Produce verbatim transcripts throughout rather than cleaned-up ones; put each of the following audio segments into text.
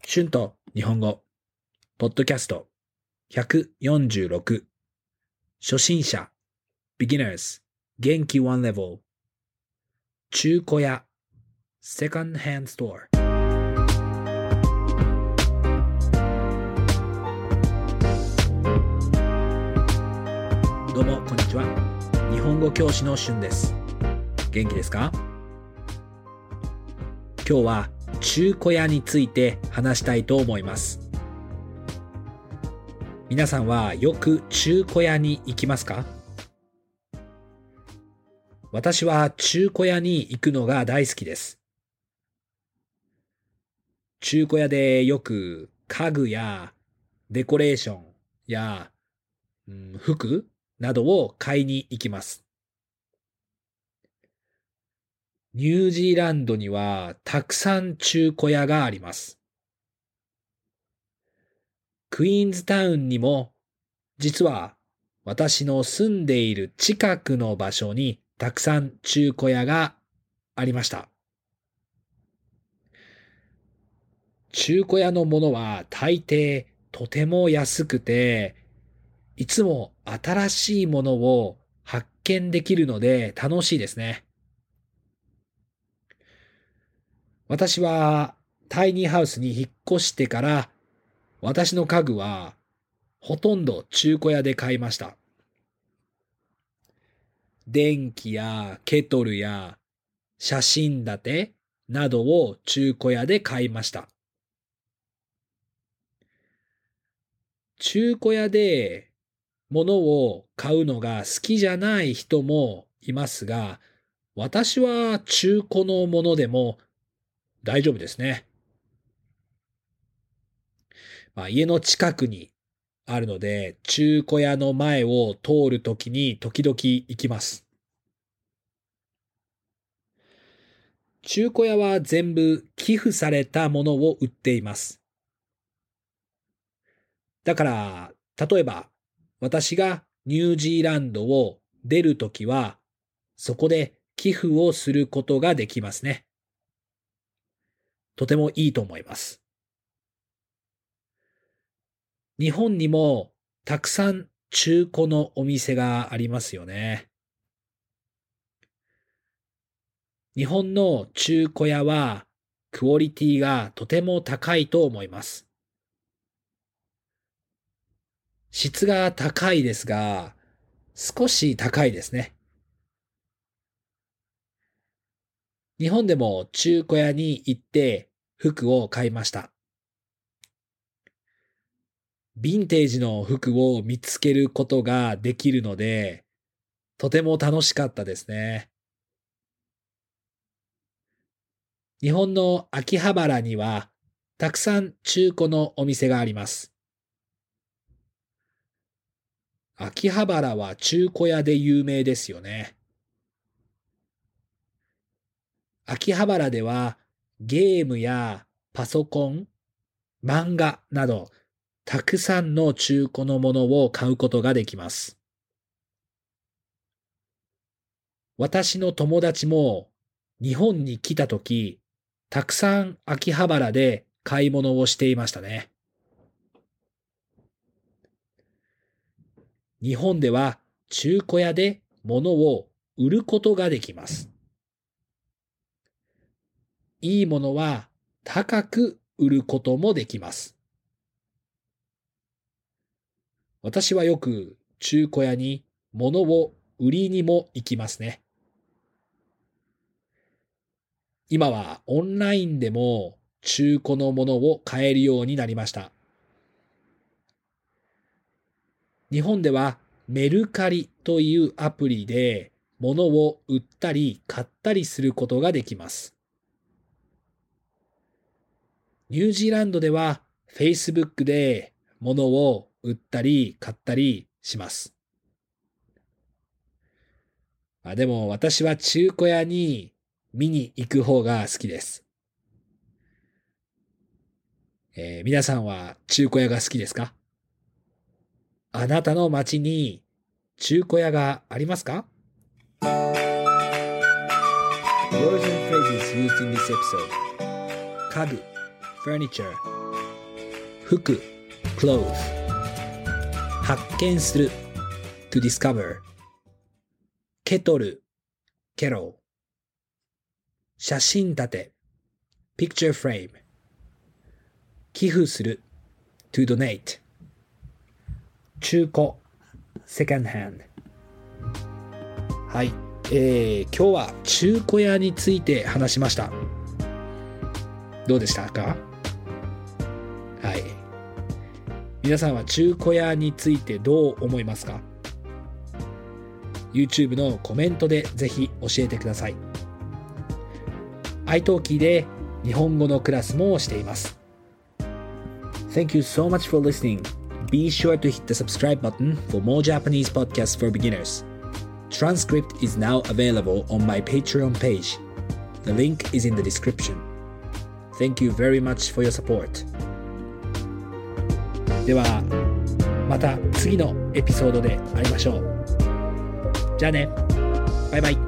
春と日本語ポッドキャストひゃくよんじゅうろく初心者 Beginners 元気ワンレベル中古屋 Second Hand Store。 どうもこんにちは。日本語教師の春です。元気ですか？今日は中古屋について話したいと思います。皆さんはよく中古屋に行きますか？私は中古屋に行くのが大好きです。中古屋でよく家具やデコレーションや、うん、服などを買いに行きます。ニュージーランドにはたくさん中古屋があります。クイーンズタウンにも実は私の住んでいる近くの場所にたくさん中古屋がありました。中古屋のものは大抵とても安くて、いつも新しいものを発見できるので楽しいですね。私はタイニーハウスに引っ越してから私の家具はほとんど中古屋で買いました。電気やケトルや写真立てなどを中古屋で買いました。中古屋で物を買うのが好きじゃない人もいますが、私は中古のものでも大丈夫ですね。まあ、家の近くにあるので、中古屋の前を通るときに時々行きます。中古屋は全部寄付されたものを売っています。だから、例えば私がニュージーランドを出るときは、そこで寄付をすることができますね。とてもいいと思います。日本にもたくさん中古のお店がありますよね。日本の中古屋はクオリティがとても高いと思います。質が高いですが、少し高いですね。日本でも中古屋に行って服を買いました。ヴィンテージの服を見つけることができるので、とても楽しかったですね。日本の秋葉原にはたくさん中古のお店があります。秋葉原は中古屋で有名ですよね。秋葉原ではゲームやパソコン、漫画などたくさんの中古のものを買うことができます。私の友達も日本に来たとき、たくさん秋葉原で買い物をしていましたね。日本では中古屋で物を売ることができます。いいものは高く売ることもできます。私はよく中古屋に物を売りにも行きますね。今はオンラインでも中古のものを買えるようになりました。日本ではメルカリというアプリで物を売ったり買ったりすることができます。ニュージーランドでは Facebook で物を売ったり買ったりします。あ、でも私は中古屋に見に行く方が好きです。えー、皆さんは中古屋が好きですか？あなたの町に中古屋がありますか？ Words and phrases used in this episode: 家具 furniture 服 clothe 発見する to discover ケトル kettle 写真立て picture frame 寄付する to donate 中古 second hand はい、えー、今日は中古屋について話しました。どうでしたか？はい。皆さんは中古屋についてどう思いますか？ YouTube のコメントでぜひ教えてください。iTalki で日本語のクラスもしています。Thank you so much for listening. Be sure to hit the subscribe button for more Japanese podcasts for beginners. Transcript is now available on my Patreon page. The link is in the description. Thank you very much for your support. ではまた次のエピソードで会いましょう。じゃあね。バイバイ。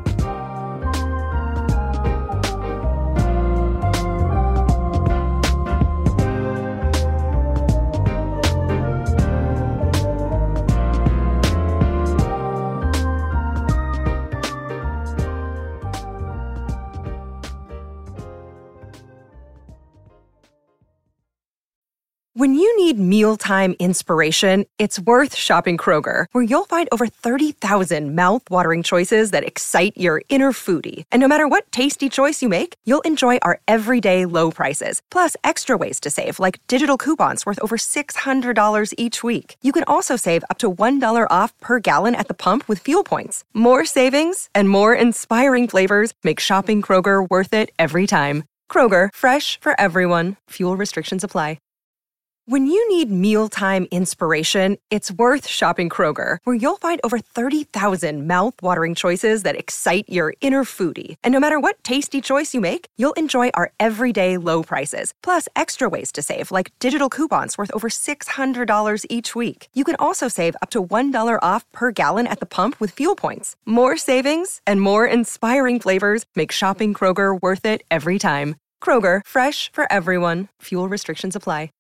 When you need mealtime inspiration, it's worth shopping Kroger, where you'll find over thirty thousand mouth-watering choices that excite your inner foodie. And no matter what tasty choice you make, you'll enjoy our everyday low prices, plus extra ways to save, like digital coupons worth over six hundred dollars each week. You can also save up to one dollar off per gallon at the pump with fuel points. More savings and more inspiring flavors make shopping Kroger worth it every time. Kroger, fresh for everyone. Fuel restrictions apply. When you need mealtime inspiration, it's worth shopping Kroger, where you'll find over thirty thousand mouth-watering choices that excite your inner foodie. And no matter what tasty choice you make, you'll enjoy our everyday low prices, plus extra ways to save, like digital coupons worth over six hundred dollars each week. You can also save up to one dollar off per gallon at the pump with fuel points. More savings and more inspiring flavors make shopping Kroger worth it every time. Kroger, fresh for everyone. Fuel restrictions apply.